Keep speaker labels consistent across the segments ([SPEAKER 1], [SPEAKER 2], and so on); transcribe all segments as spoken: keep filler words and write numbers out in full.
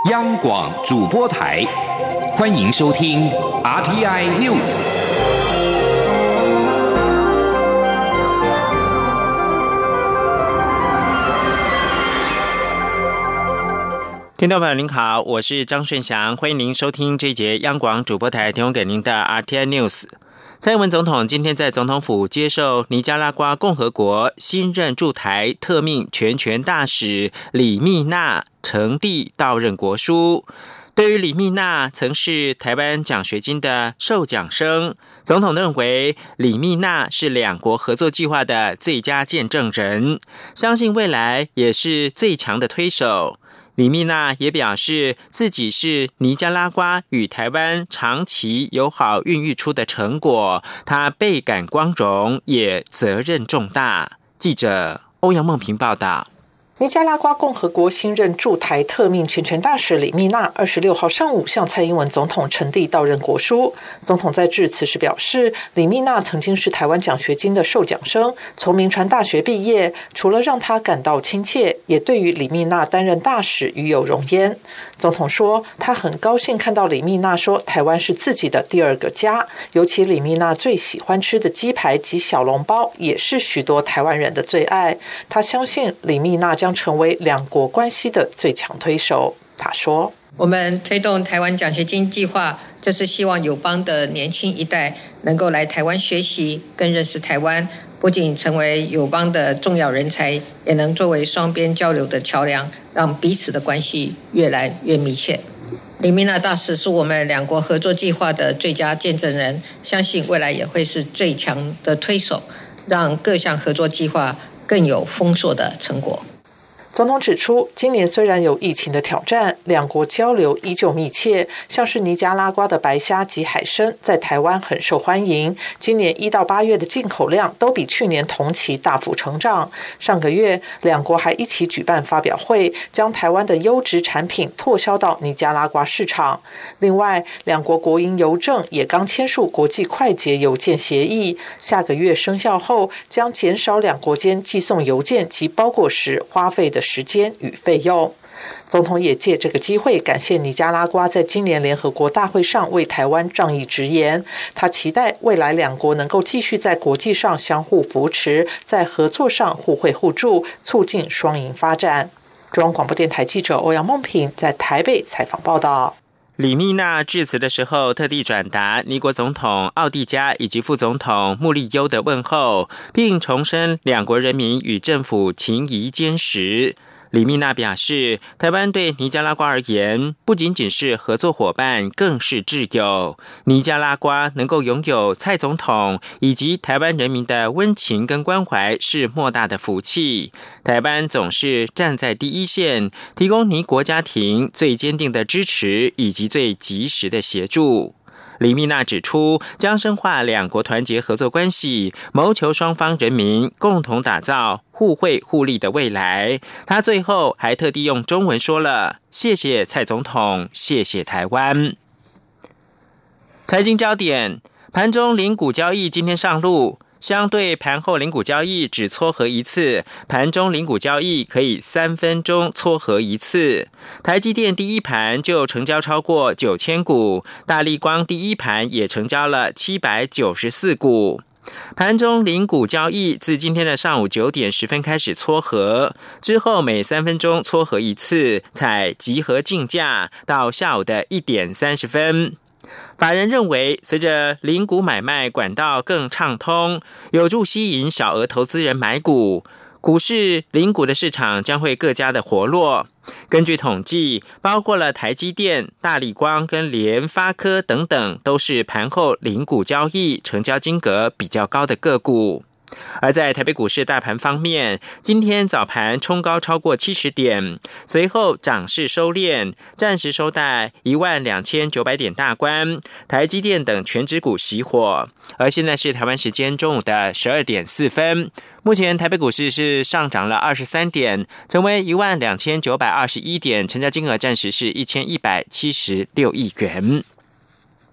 [SPEAKER 1] 央广主播台，欢迎收听 R T I News。
[SPEAKER 2] 听众朋友您好，我是张顺祥，欢迎您收听这一节央广主播台提供给您的 R T I News。蔡英文总统今天在总统府接受尼加拉瓜共和国新任驻台特命全权大使李蜜娜呈递到任国书。对于李蜜娜曾是台湾奖学金的受奖生，总统认为李蜜娜是两国合作计划的最佳见证人，相信未来也是最强的推手。李蜜娜也表示自己是尼加拉瓜与台湾长期友好孕育出的成果，她倍感光荣，也责任重大。记者欧阳梦平报道。
[SPEAKER 3] 尼加拉瓜共和国新任驻台特命全权大使李蜜娜二十六号上午向蔡英文总统呈递到任国书。总统在致辞时表示，李蜜娜曾经是台湾奖学金的受奖生，从铭传大学毕业，除了让他感到亲切，也对于李蜜娜担任大使与有荣焉。总统说，他很高兴看到李蜜娜说台湾是自己的第二个家，尤其李蜜娜最喜欢吃的鸡排及小笼包也是许多台湾人的最爱。他相信李蜜娜将成为两国关系的最强推手。他说，
[SPEAKER 4] 我们推动台湾奖学金计划，就是希望友邦的年轻一代能够来台湾学习，更认识台湾，不仅成为友邦的重要人才，也能作为双边交流的桥梁，让彼此的关系越来越密切。李蜜娜大使是我们两国合作计划的最佳见证人，相信未来也会是最强的推手，让各项合作计划更有丰硕的成果。
[SPEAKER 3] 总统指出，今年虽然有疫情的挑战，两国交流依旧密切，像是尼加拉瓜的白虾及海参在台湾很受欢迎，今年一到八月的进口量都比去年同期大幅成长。上个月两国还一起举办发表会，将台湾的优质产品拓销到尼加拉瓜市场。另外，两国国营邮政也刚签署国际快捷邮件协议，下个月生效后将减少两国间寄送邮件及包裹时花费的时间与费用。总统也借这个机会感谢尼加拉瓜在今年联合国大会上为台湾仗义直言，他期待未来两国能够继续在国际上相互扶持，在合作上互惠互助，促进双赢发展。中央广播电台记者欧阳梦平在台北采访报道。
[SPEAKER 2] 李蜜娜致辞的时候，特地转达尼国总统奥蒂加以及副总统穆利优的问候，并重申两国人民与政府情谊坚实。李蜜娜表示，台湾对尼加拉瓜而言，不仅仅是合作伙伴，更是挚友。尼加拉瓜能够拥有蔡总统以及台湾人民的温情跟关怀，是莫大的福气。台湾总是站在第一线，提供尼国家庭最坚定的支持以及最及时的协助。李蜜娜指出，将深化两国团结合作关系，谋求双方人民共同打造互惠互利的未来。他最后还特地用中文说了：“谢谢蔡总统，谢谢台湾。”财经焦点，盘中零股交易今天上路。相对盘后零股交易只撮合一次，盘中零股交易可以三分钟撮合一次。台积电第一盘就成交超过九千股，大立光第一盘也成交了七百九十四股。盘中零股交易自今天的上午九点十分开始撮合，之后每三分钟撮合一次，采集合竞价到下午的一点三十分。法人认为，随着零股买卖管道更畅通，有助吸引小额投资人买股，股市零股的市场将会更加的活络。根据统计，包括了台积电、大立光跟联发科等等，都是盘后零股交易成交金额比较高的个股。而在台北股市大盘方面，今天早盘冲高超过七十点，随后涨势收敛，暂时收在一万两千九百点大关，台积电等全指股熄火。而现在是台湾时间中午的十二点四分，目前台北股市是上涨了二十三点，成为一万两千九百二十一点，成交金额暂时是一千一百七十六亿元。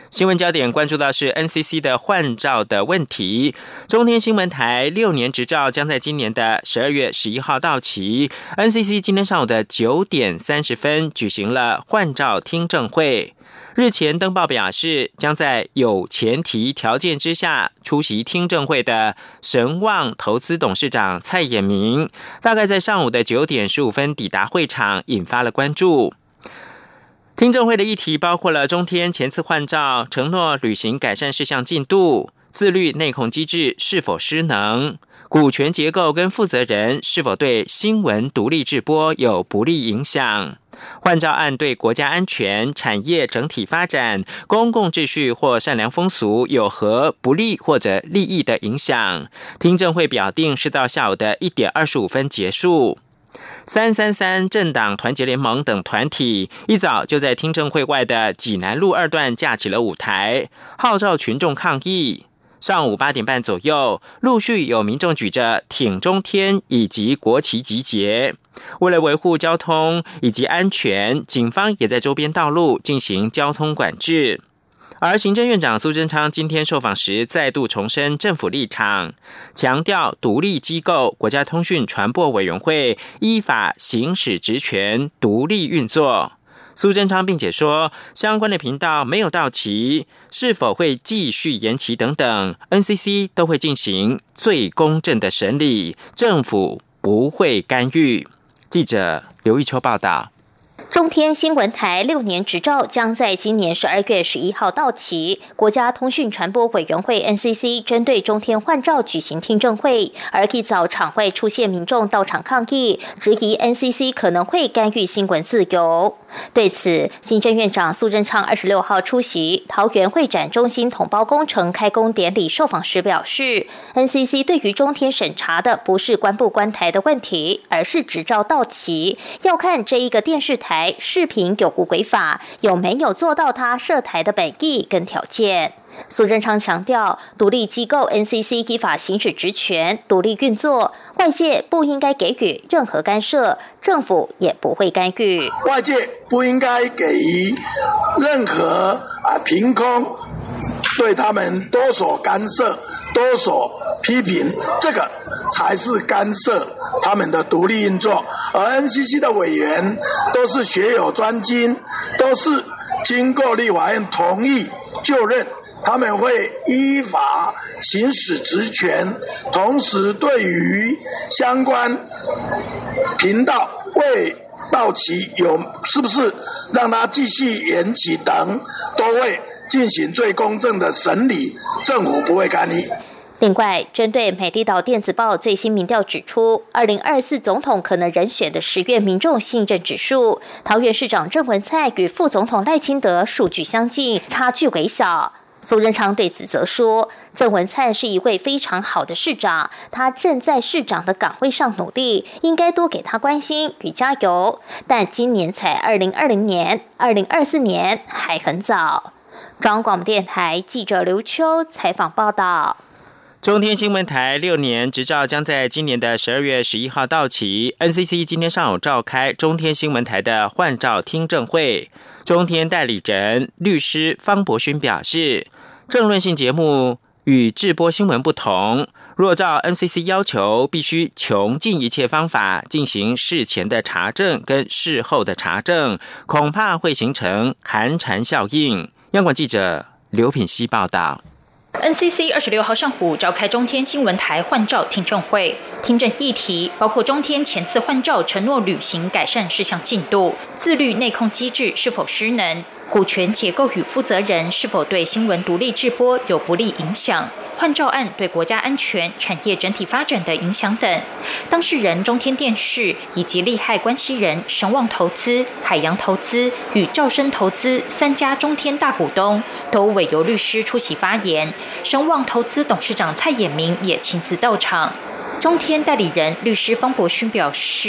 [SPEAKER 2] 新闻焦点关注到是 N C C 的换照的问题。中天新闻台六年执照将在今年的十二月十一号到期。N C C 今天上午的九点三十分举行了换照听证会。日前登报表示，将在有前提条件之下出席听证会的神旺投资董事长蔡衍明，大概在上午的九点十五分抵达会场，引发了关注。听证会的议题包括了中天前次换照承诺履行改善事项进度、自律内控机制是否失能、股权结构跟负责人是否对新闻独立制播有不利影响、换照案对国家安全、产业整体发展、公共秩序或善良风俗有何不利或者利益的影响。听证会表定是到下午的一点二十五分结束。三三三政党团结联盟等团体一早就在听证会外的济南路二段架起了舞台，号召群众抗议。上午八点半左右，陆续有民众举着挺中天以及国旗集结。为了维护交通以及安全，警方也在周边道路进行交通管制。而行政院长苏贞昌今天受访时再度重申政府立场，强调独立机构国家通讯传播委员会依法行使职权，独立运作。苏贞昌并且说，相关的频道没有到期，是否会继续延期等等 ，N C C 都会进行最公正的审理，政府不会干预。记者刘玉秋报道。
[SPEAKER 5] 中天新闻台六年执照将在今年十二月十一号到期。国家通讯传播委员会 N C C 针对中天换照举行听证会，而一早场外出现民众到场抗议，质疑 N C C 可能会干预新闻自由。对此，行政院长苏贞昌二十六号出席桃园会展中心统包工程开工典礼受访时表示 ，N C C 对于中天审查的不是关不关台的问题，而是执照到期，要看这一个电视台视频有无违法，有没有做到他涉台的本意跟条件。苏贞昌强调，独立机构 N C C 依法行使职权，独立运作，外界不应该给予任何干涉，政府也不会干预。
[SPEAKER 6] 外界不应该给予任何啊凭空对他们多所干涉、多所批评，这个才是干涉他们的独立运作。而 N C C 的委员都是学有专精，都是经过立法院同意就任，他们会依法行使职权，同时对于相关频道未到期有是不是让他继续延期等，都会进行最公正的审理，政府不会干预。
[SPEAKER 5] 另外，针对美丽岛电子报最新民调指出，二零二四总统可能人选的十月民众信任指数，桃园市长郑文灿与副总统赖清德数据相近，差距微小。苏贞昌对此则说，郑文灿是一位非常好的市长，他正在市长的岗位上努力，应该多给他关心与加油。但今年才二零二零年，二零二四年还很早。中央广播电台记者刘秋采访报道。
[SPEAKER 2] 中天新闻台六年执照将在今年的十二月十一号到期。N C C 今天上午召开中天新闻台的换照听证会。中天代理人律师方伯勋表示，政论性节目与制播新闻不同，若照 N C C 要求，必须穷尽一切方法进行事前的查证跟事后的查证，恐怕会形成寒蝉效应。央广记者刘品希报道。
[SPEAKER 7] N C C 二十六号上午召开中天新闻台换照听证会，听证议题包括中天前次换照承诺履行改善事项进度、自律内控机制是否失能、股权结构与负责人是否对新闻独立制播有不利影响、换照案对国家安全、产业整体发展的影响等。当事人中天电视以及利害关系人神旺投资、海洋投资与兆生投资三家中天大股东都委由律师出席发言，神旺投资董事长蔡衍明也亲自到场。中天代理人律师方伯勋表示，中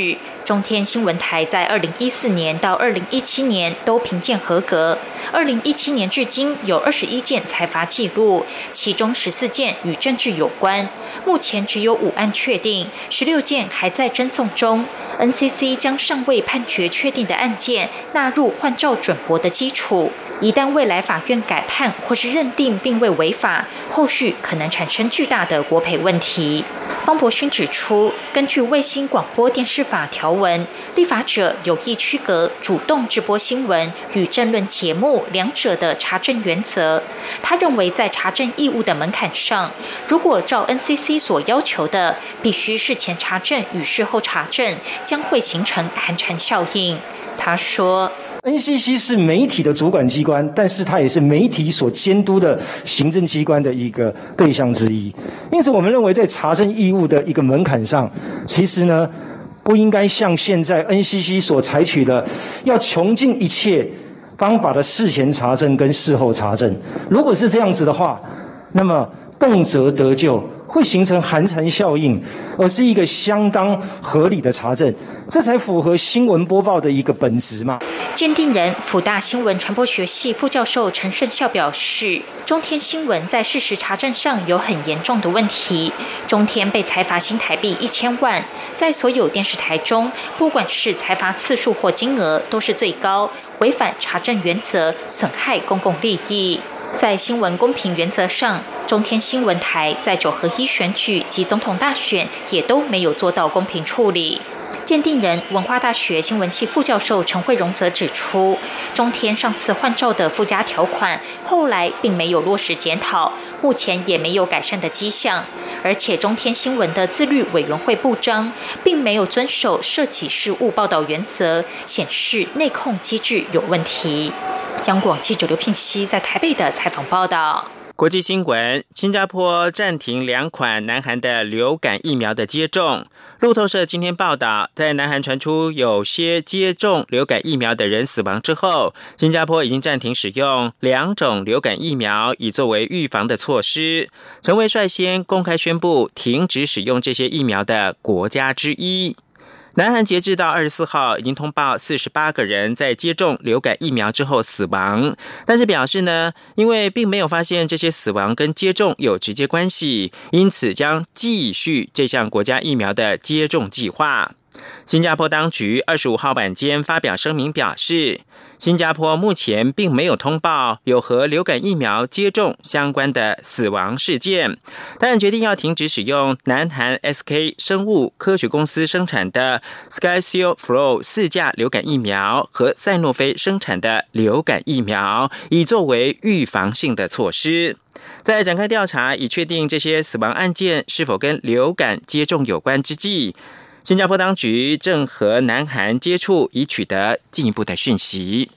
[SPEAKER 7] 中天新闻台在二零一四年到二零一七年都评鉴合格，二零一七年至今有二十一件裁罚记录，其中十四件与政治有关，目前只有五案确定，十六件还在侦送中。N C C 将尚未判决确定的案件纳入换照准驳的基础，一旦未来法院改判或是认定并未违法，后续可能产生巨大的国赔问题。方伯勋指出，根据卫星广播电视法条文，立法者有意区隔主动直播新闻与政论节目两者的查证原则。他认为，在查证义务的门槛上，如果照 N C C 所要求的，必须事前查证与事后查证，将会形成寒蝉效应。他说
[SPEAKER 8] N C C 是媒体的主管机关，但是它也是媒体所监督的行政机关的一个对象之一。因此，我们认为在查证义务的一个门槛上，其实呢，不应该像现在 N C C 所采取的，要穷尽一切方法的事前查证跟事后查证。如果是这样子的话，那么动辄得咎，会形成寒蝉效应，而是一个相当合理的查证，这才符合新闻播报的一个本质嘛。
[SPEAKER 7] 鉴定人辅大新闻传播学系副教授陈顺孝表示，中天新闻在事实查证上有很严重的问题。中天被裁罚新台币一千万，在所有电视台中，不管是裁罚次数或金额，都是最高，违反查证原则，损害公共利益。在新闻公平原则上，中天新闻台在九合一选举及总统大选也都没有做到公平处理。鉴定人文化大学新闻系副教授陈慧荣则指出，中天上次换照的附加条款后来并没有落实检讨，目前也没有改善的迹象，而且中天新闻的自律委员会部章并没有遵守涉及事务报道原则，显示内控机制有问题。央广记者刘聘熙在台北的采访报道。
[SPEAKER 2] 国际新闻：新加坡暂停两款南韩的流感疫苗的接种。路透社今天报道，在南韩传出有些接种流感疫苗的人死亡之后，新加坡已经暂停使用两种流感疫苗，以作为预防的措施，成为率先公开宣布停止使用这些疫苗的国家之一。南韩截至到二十四号已经通报四十八个人在接种流感疫苗之后死亡，但是表示呢，因为并没有发现这些死亡跟接种有直接关系，因此将继续这项国家疫苗的接种计划。新加坡当局二十五号晚间发表声明表示，新加坡目前并没有通报有和流感疫苗接种相关的死亡事件，但决定要停止使用南韩 S K 生物科学公司生产的 SkyShield Flow 四价流感疫苗和赛诺菲生产的流感疫苗，以作为预防性的措施。在展开调查以确定这些死亡案件是否跟流感接种有关之际，新加坡当局正和南韩接触，以取得进一步的讯息。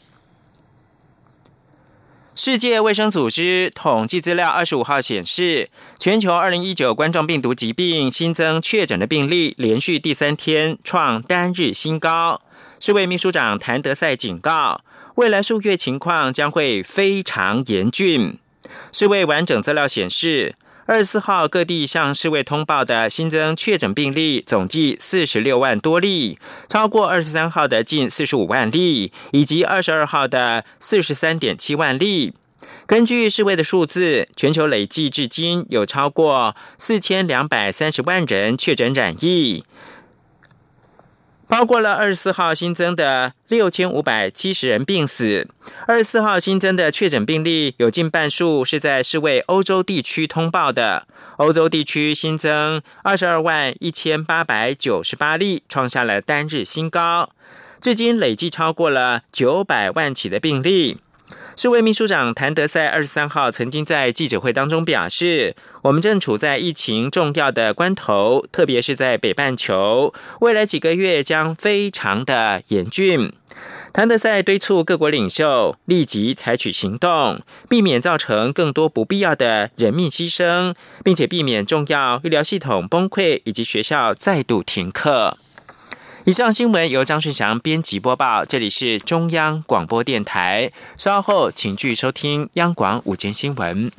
[SPEAKER 2] 世界卫生组织统计资料二十五号显示，全球二零一九冠状病毒疾病新增确诊的病例连续第三天创单日新高。世卫秘书长谭德赛警告，未来数月情况将会非常严峻。世卫完整资料显示，二十四号各地向世卫通报的新增确诊病例总计四十六万多例，超过二十三号的近四十五万例，以及二十二号的四十三点七万例。根据世卫的数字，全球累计至今有超过四千两百三十万人确诊染疫，包括了二十四号新增的六千五百七十人病死。二十四号新增的确诊病例有近半数是在世卫欧洲地区通报的，欧洲地区新增二十二万一千八百九十八例，创下了单日新高，至今累计超过了九百万起的病例。世卫秘书长谭德赛二十三号曾经在记者会当中表示，我们正处在疫情重要的关头，特别是在北半球，未来几个月将非常的严峻。谭德赛敦促各国领袖立即采取行动，避免造成更多不必要的人命牺牲，并且避免重要医疗系统崩溃以及学校再度停课。以上新闻由张顺祥编辑播报，这里是中央广播电台，稍后请继续收听央广午间新闻。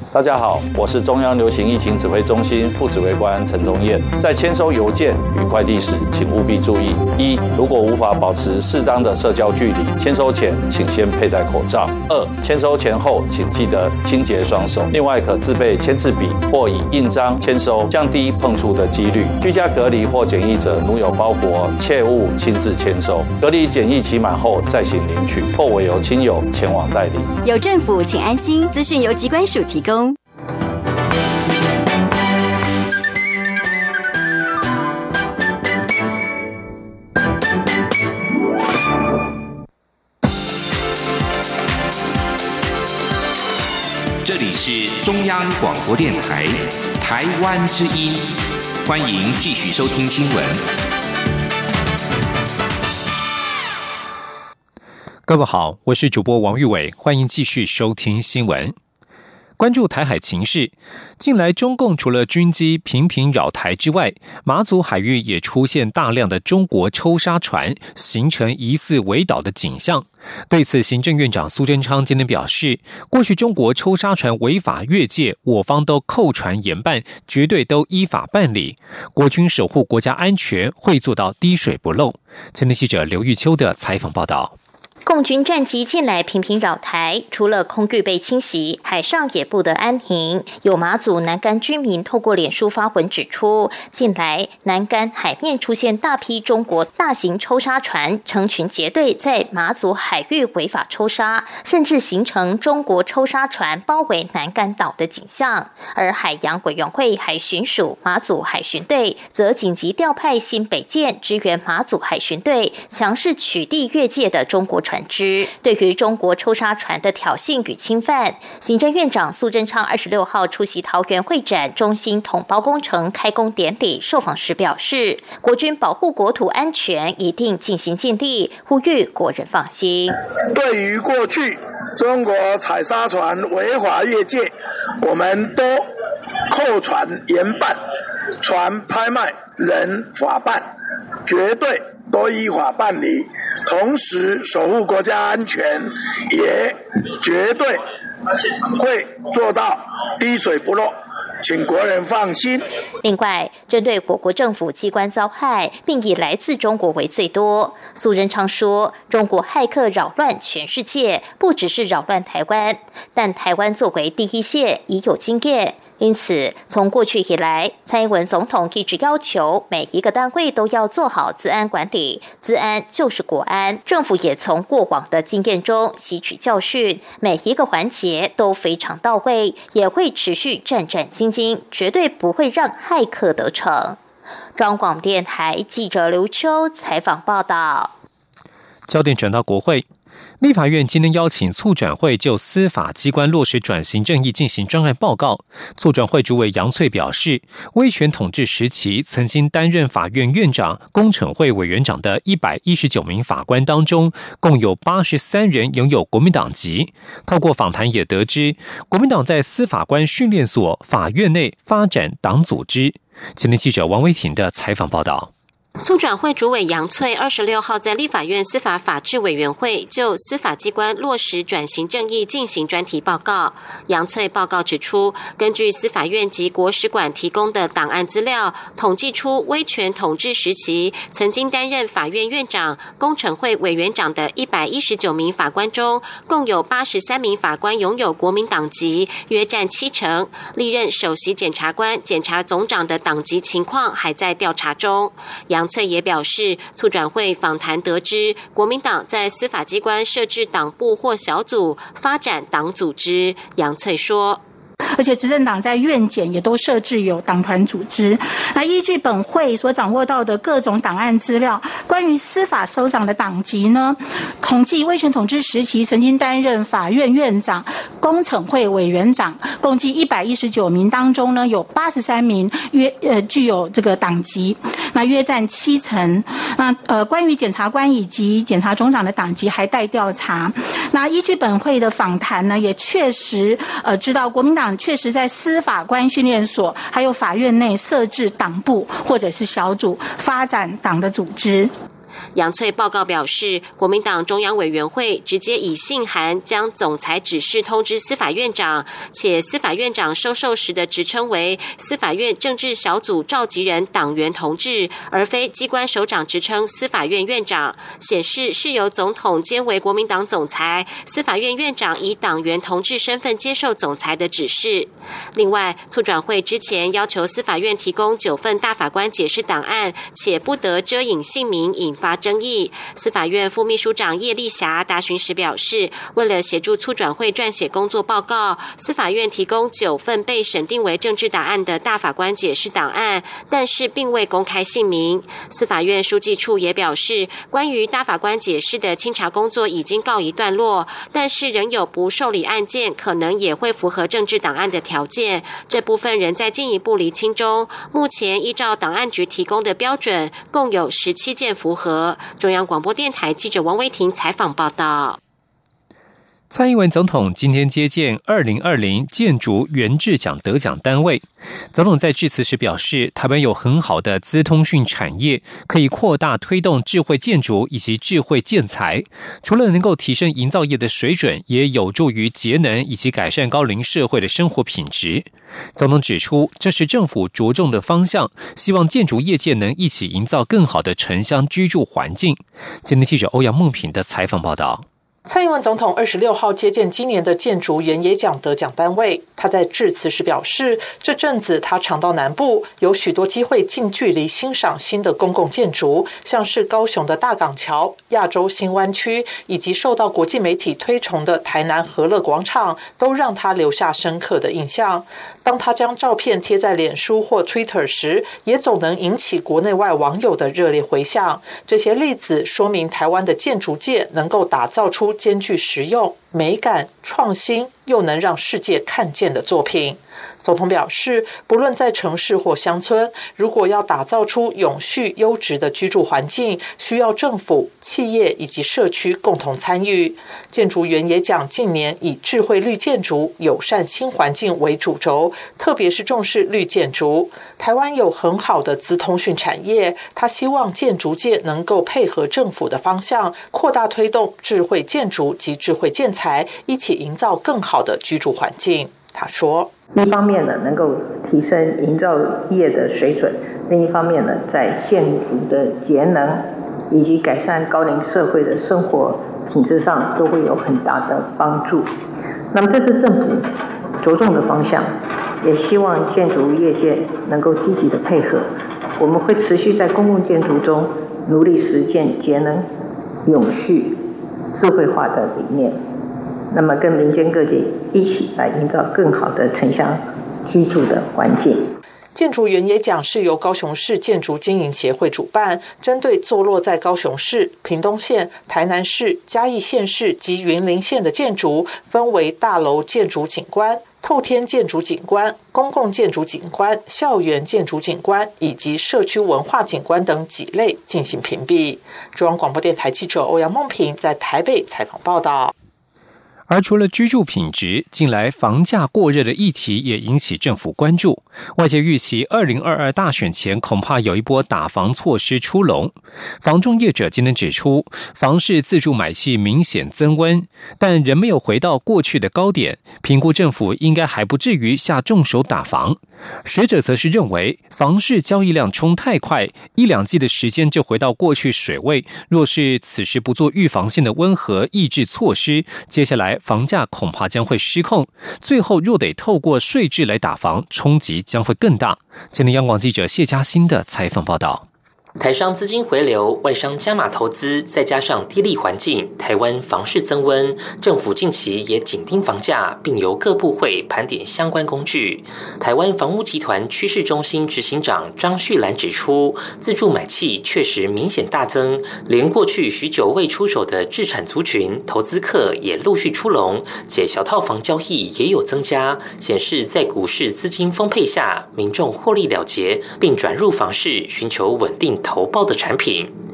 [SPEAKER 9] 大家好，我是中央流行疫情指挥中心副指挥官陈宗彦。在签收邮件与快递时，请务必注意：一、如果无法保持适当的社交距离，签收前请先佩戴口罩；二、签收前后请记得清洁双手。另外，可自备签字笔或以印章签收，降低碰触的几率。居家隔离或检疫者，如有包裹，切勿亲自签收。隔离检疫期满后再行领取，或委由亲友前往代理。
[SPEAKER 10] 有政府，请安心。资讯由疾管署提供。
[SPEAKER 1] 这里是中央广播电台台湾之音，欢迎继续收听新闻。
[SPEAKER 11] 各位好，我是主播王玉伟，欢迎继续收听新闻。关注台海情势，近来中共除了军机频频扰台之外，马祖海域也出现大量的中国抽沙船，形成疑似围岛的景象。对此，行政院长苏贞昌今天表示，过去中国抽沙船违法越界，我方都扣船严办，绝对都依法办理。国军守护国家安全，会做到滴水不漏。前天记者刘玉秋的采访报道。
[SPEAKER 5] 共军战机近来频频扰台，除了空域被侵袭，海上也不得安宁。有马祖南竿居民透过脸书发文指出，近来南竿海面出现大批中国大型抽沙船成群结队在马祖海域违法抽沙，甚至形成中国抽沙船包围南竿岛的景象。而海洋委员会海巡署马祖海巡队则紧急调派新北舰支援马祖海巡队，强势取缔越界的中国船只。对于中国抽沙船的挑衅与侵犯，行政院长苏贞昌二十六号出席桃园会展中心统包工程开工典礼受访时表示，国军保护国土安全一定尽心尽力，呼吁国人放心。
[SPEAKER 6] 对于过去中国采沙船违法越界，我们都扣船严办，船拍卖人法办，绝对都依法办理，同时守护国家安全，也绝对会做到滴水不漏，请国人放心。
[SPEAKER 5] 另外，针对我国政府机关遭害，并以来自中国为最多，苏贞昌说，中国骇客扰乱全世界，不只是扰乱台湾，但台湾作为第一线已有经验。因此，从过去以来，蔡英文总统一直要求每一个单位都要做好资安管理，资安就是国安。政府也从过往的经验中吸取教训，每一个环节都非常到位，也会持续战战兢兢，绝对不会让骇客得逞。中央广播电台记者刘秋采访报道。
[SPEAKER 11] 焦点转到国会。立法院今天邀请促转会就司法机关落实转型正义进行专案报告。促转会主委杨翠表示，威权统治时期曾经担任法院院长、公惩会委员长的一百一十九名法官当中，共有八十三人拥有国民党籍。透过访谈也得知，国民党在司法官训练所、法院内发展党组织。今天记者王维婷的采访报道。
[SPEAKER 12] 促转会主委杨翠二十六号在立法院司法法制委员会就司法机关落实转型正义进行专题报告。杨翠报告指出，根据司法院及国史馆提供的档案资料，统计出威权统治时期曾经担任法院院长、公惩会委员长的一百一十九名法官中，共有八十三名法官拥有国民党籍，约占七成。历任首席检察官、检察总长的党籍情况还在调查中。杨翠也表示，促转会访谈得知，国民党在司法机关设置党部或小组，发展党组织。杨翠说，
[SPEAKER 13] 而且执政党在院检也都设置有党团组织。那依据本会所掌握到的各种档案资料，关于司法首长的党籍呢，统计威权统治时期曾经担任法院院长、公惩会委员长，共计一百一十九名当中呢，有八十三名约呃具有这个党籍，那约占七成。那呃关于检察官以及检察总长的党籍还待调查。那依据本会的访谈呢，也确实呃知道国民党确实在司法官训练所还有法院内设置党部或者是小组，发展党的组织。
[SPEAKER 12] 杨翠报告表示，国民党中央委员会直接以信函将总裁指示通知司法院长，且司法院长收受时的职称为司法院政治小组召集人党员同志，而非机关首长职称司法院院长，显示是由总统兼为国民党总裁，司法院院长以党员同志身份接受总裁的指示。另外，促转会之前要求司法院提供九份大法官解释档案，且不得遮隐姓名，引发争议。司法院副秘书长叶丽霞答询时表示，为了协助促转会撰写工作报告，司法院提供九份被审定为政治档案的大法官解释档案，但是并未公开姓名。司法院书记处也表示，关于大法官解释的清查工作已经告一段落，但是仍有不受理案件，可能也会符合政治档案的条件，这部分仍在进一步厘清中。目前依照档案局提供的标准，共有十七件符合。中央广播电台记者王威婷采访报道。
[SPEAKER 11] 蔡英文总统今天接见二零二零建筑原制奖得奖单位。总统在致辞时表示，台湾有很好的资通讯产业，可以扩大推动智慧建筑以及智慧建材，除了能够提升营造业的水准，也有助于节能以及改善高龄社会的生活品质。总统指出，这是政府着重的方向，希望建筑业界能一起营造更好的城乡居住环境。今天记者欧阳梦平的采访报道。
[SPEAKER 3] 蔡英文总统二十六号接见今年的建筑原野奖得奖单位，他在致辞时表示，这阵子他常到南部，有许多机会近距离欣赏新的公共建筑，像是高雄的大港桥、亚洲新湾区，以及受到国际媒体推崇的台南和乐广场，都让他留下深刻的印象。当他将照片贴在脸书或 Twitter 时，也总能引起国内外网友的热烈回响。这些例子说明台湾的建筑界能够打造出兼具实用、美感、创新，又能让世界看见的作品。总统表示，不论在城市或乡村，如果要打造出永续优质的居住环境，需要政府、企业以及社区共同参与。建筑原野奖近年以智慧绿建筑、友善新环境为主轴，特别是重视绿建筑。台湾有很好的资通讯产业，他希望建筑界能够配合政府的方向，扩大推动智慧建筑及智慧建材，一起营造更好的居住环境。他说，
[SPEAKER 14] 一方面呢，能够提升营造业的水准；另一方面呢，在建筑的节能以及改善高龄社会的生活品质上，都会有很大的帮助。那么，这是政府着重的方向，也希望建筑业界能够积极的配合。我们会持续在公共建筑中努力实践节能、永续、智慧化的理念。那么跟民间各界一起来营造更好的城乡居住的环境。
[SPEAKER 3] 建筑原野奖是由高雄市建筑经营协会主办，针对坐落在高雄市、屏东县、台南市、嘉义县市及云林县的建筑，分为大楼建筑景观、透天建筑景观、公共建筑景观、校园建筑景观以及社区文化景观等几类进行评比。中央广播电台记者欧阳梦平在台北采访报道。
[SPEAKER 11] 而除了居住品质，近来房价过热的议题也引起政府关注。外界预期二零二二大选前恐怕有一波打房措施出笼。房仲业者今天指出，房市自住买气明显增温，但仍没有回到过去的高点，评估政府应该还不至于下重手打房。学者则是认为，房市交易量冲太快，一两季的时间就回到过去水位，若是此时不做预防性的温和抑制措施，接下来房价恐怕将会失控，最后若得透过税制来打房，冲击将会更大。今天央广记者谢嘉欣的采访报道。
[SPEAKER 15] 台商资金回流，外商加码投资，再加上低利环境，台湾房市增温。政府近期也紧盯房价，并由各部会盘点相关工具。台湾房屋集团趋势中心执行长张旭兰指出，自住买气确实明显大增，连过去许久未出手的置产族群、投资客也陆续出笼，且小套房交易也有增加，显示在股市资金丰沛下，民众获利了结，并转入房市寻求稳定投报的产品。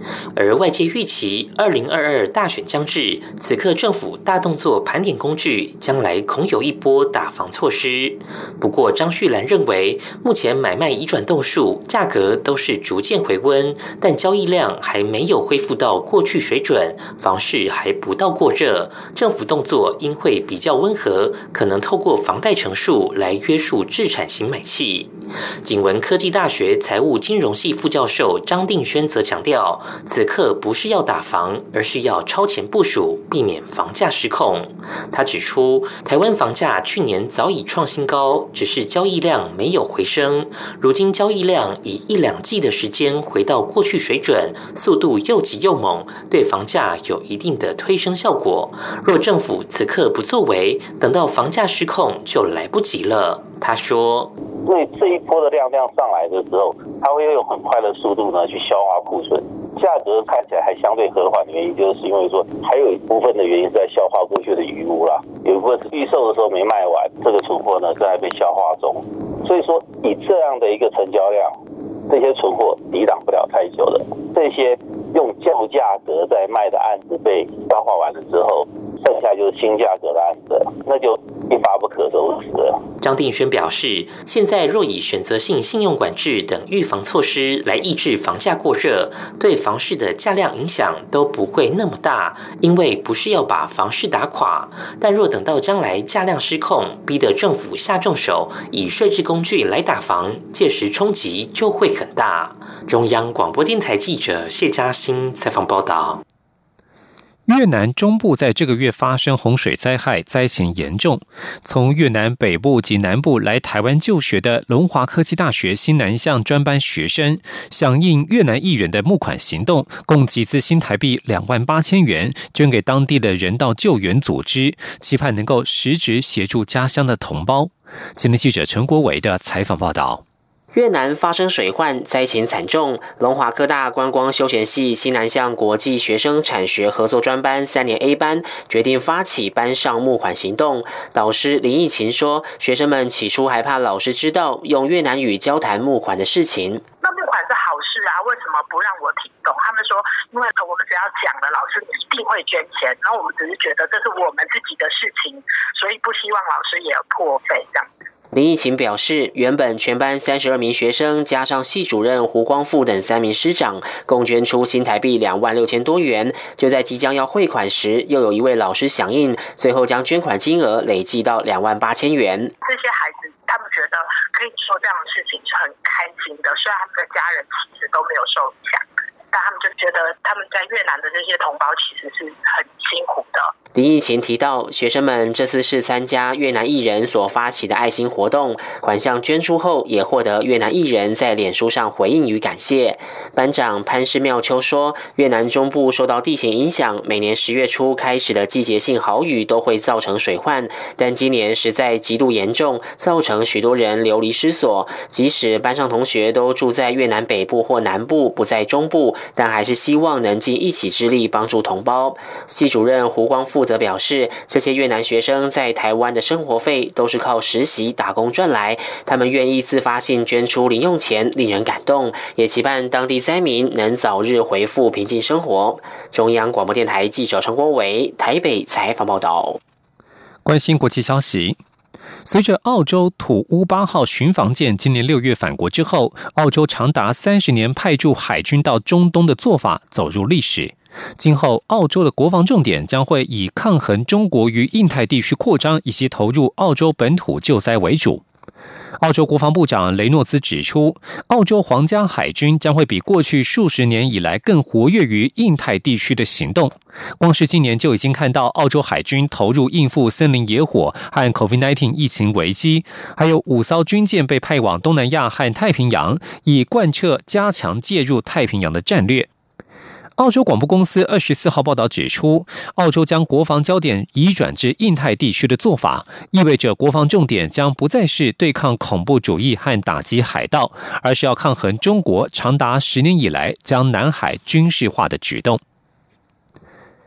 [SPEAKER 15] 而外界预期二零二二大选将至，此刻政府大动作盘点工具，将来恐有一波打房措施。不过张旭兰认为，目前买卖移转栋数价格都是逐渐回温，但交易量还没有恢复到过去水准，房市还不到过热，政府动作应会比较温和，可能透过房贷成数来约束置产型买气。景文科技大学财务金融系副教授张定轩则强调，此刻不是要打房，而是要超前部署，避免房价失控。他指出，台湾房价去年早已创新高，只是交易量没有回升，如今交易量以一两季的时间回到过去水准，速度又急又猛，对房价有一定的推升效果。若政府此刻不作为，等到房价失控就来不及了。他说，
[SPEAKER 16] 所以这一波的量量上来的时候，它会用很快的速度呢去消化库存，价格看起来还相对和缓的原因，就是因为说还有一部分的原因是在消化过去的余物啦，有一部分是预售的时候没卖完，这个存货呢正在被消化中，所以说以这样的一个成交量，这些存货抵挡不了太久的，这些用旧价格在卖的案子被消化完了之后，剩下就是新价格的案子，那就一发不可收拾了。
[SPEAKER 15] 张定轩表示，现在若以选择性信用管制等预防措施来抑制房价过热，对房市的价量影响都不会那么大，因为不是要把房市打垮。但若等到将来价量失控，逼得政府下重手，以税制工具来打房，届时冲击就会很大。中央广播电台记者谢嘉欣采访报道。
[SPEAKER 11] 越南中部在这个月发生洪水灾害，灾情严重。从越南北部及南部来台湾就学的龙华科技大学新南向专班学生，响应越南艺人的募款行动，共集资新台币两万八千元，捐给当地的人道救援组织，期盼能够实质协助家乡的同胞。前天记者陈国维的采访报道。
[SPEAKER 17] 越南发生水患，灾情惨重。龙华科大观光休闲系西南向国际学生产学合作专班三年 A 班决定发起班上募款行动。导师林义勤说，学生们起初还怕老师知道用越南语交谈募款的事情。
[SPEAKER 18] 那募款是好事啊，为什么不让我听懂？他们说，因为我们只要讲了，老师一定会捐钱，然后我们只是觉得这是我们自己的事情，所以不希望老师也破费这样子。
[SPEAKER 17] 林义勤表示，原本全班三十二名学生加上系主任胡光富等三名师长，共捐出新台币两万六千多元。就在即将要汇款时，又有一位老师响应，最后将捐款金额累计到两万八千元。
[SPEAKER 18] 这些孩子他们觉得可以做这样的事情是很开心的，虽然他们的家人其实都没有受影响，但他们就觉得他们在越南的这些同胞其实是很辛苦的。
[SPEAKER 17] 林义勤提到，学生们这次是参加越南艺人所发起的爱心活动，款项捐出后也获得越南艺人在脸书上回应与感谢。班长潘氏妙秋说，越南中部受到地形影响，每年十月初开始的季节性豪雨都会造成水患，但今年实在极度严重，造成许多人流离失所。即使班上同学都住在越南北部或南部，不在中部，但还是希望能尽一己之力帮助同胞。系主任胡光富则表示，这些越南学生在台湾的生活费都是靠实习打工赚来，他们愿意自发性捐出零用钱，令人感动，也期盼当地灾民能早日恢复平静生活。中央广播电台记者陈国维台北采访报道。
[SPEAKER 11] 关心国际消息，随着澳洲土乌八号巡防舰今年六月返国之后，澳洲长达三十年派驻海军到中东的做法走入历史。今后，澳洲的国防重点将会以抗衡中国于印太地区扩张以及投入澳洲本土救灾为主。澳洲国防部长雷诺兹指出，澳洲皇家海军将会比过去数十年以来更活跃于印太地区的行动。光是今年就已经看到澳洲海军投入应付森林野火和 COVID 十九 疫情危机，还有五艘军舰被派往东南亚和太平洋，以贯彻加强介入太平洋的战略。澳洲广播公司二十四号报道指出，澳洲将国防焦点移转至印太地区的做法，意味着国防重点将不再是对抗恐怖主义和打击海盗，而是要抗衡中国长达十年以来将南海军事化的举动。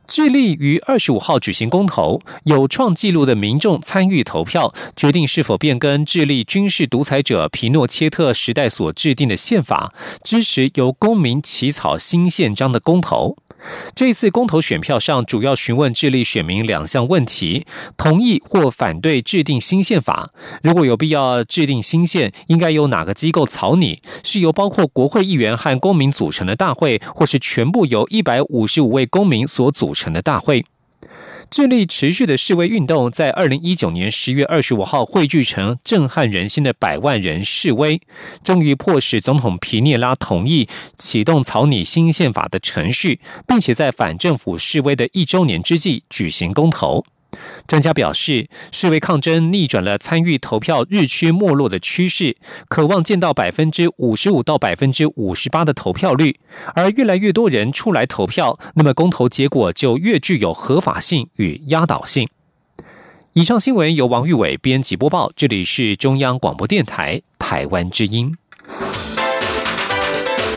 [SPEAKER 11] 智利于二十五号举行公投，有创纪录的民众参与投票，决定是否变更智利军事独裁者皮诺切特时代所制定的宪法，支持由公民起草新宪章的公投。这次公投选票上主要询问智利选民两项问题：同意或反对制定新宪法，如果有必要制定新宪，应该由哪个机构草拟，是由包括国会议员和公民组成的大会，或是全部由一百五十五位公民所组成的大会。智利持续的示威运动在二零一九年十月二十五号汇聚成震撼人心的百万人示威，终于迫使总统皮涅拉同意启动草拟新宪法的程序，并且在反政府示威的一周年之际举行公投。专家表示，示威抗争逆转了参与投票日趋没落的趋势，渴望见到百分之五十五到百分之五十八的投票率，而越来越多人出来投票，那么公投结果就越具有合法性与压倒性。以上新闻由王玉伟编辑播报，这里是中央广播电台台湾之音。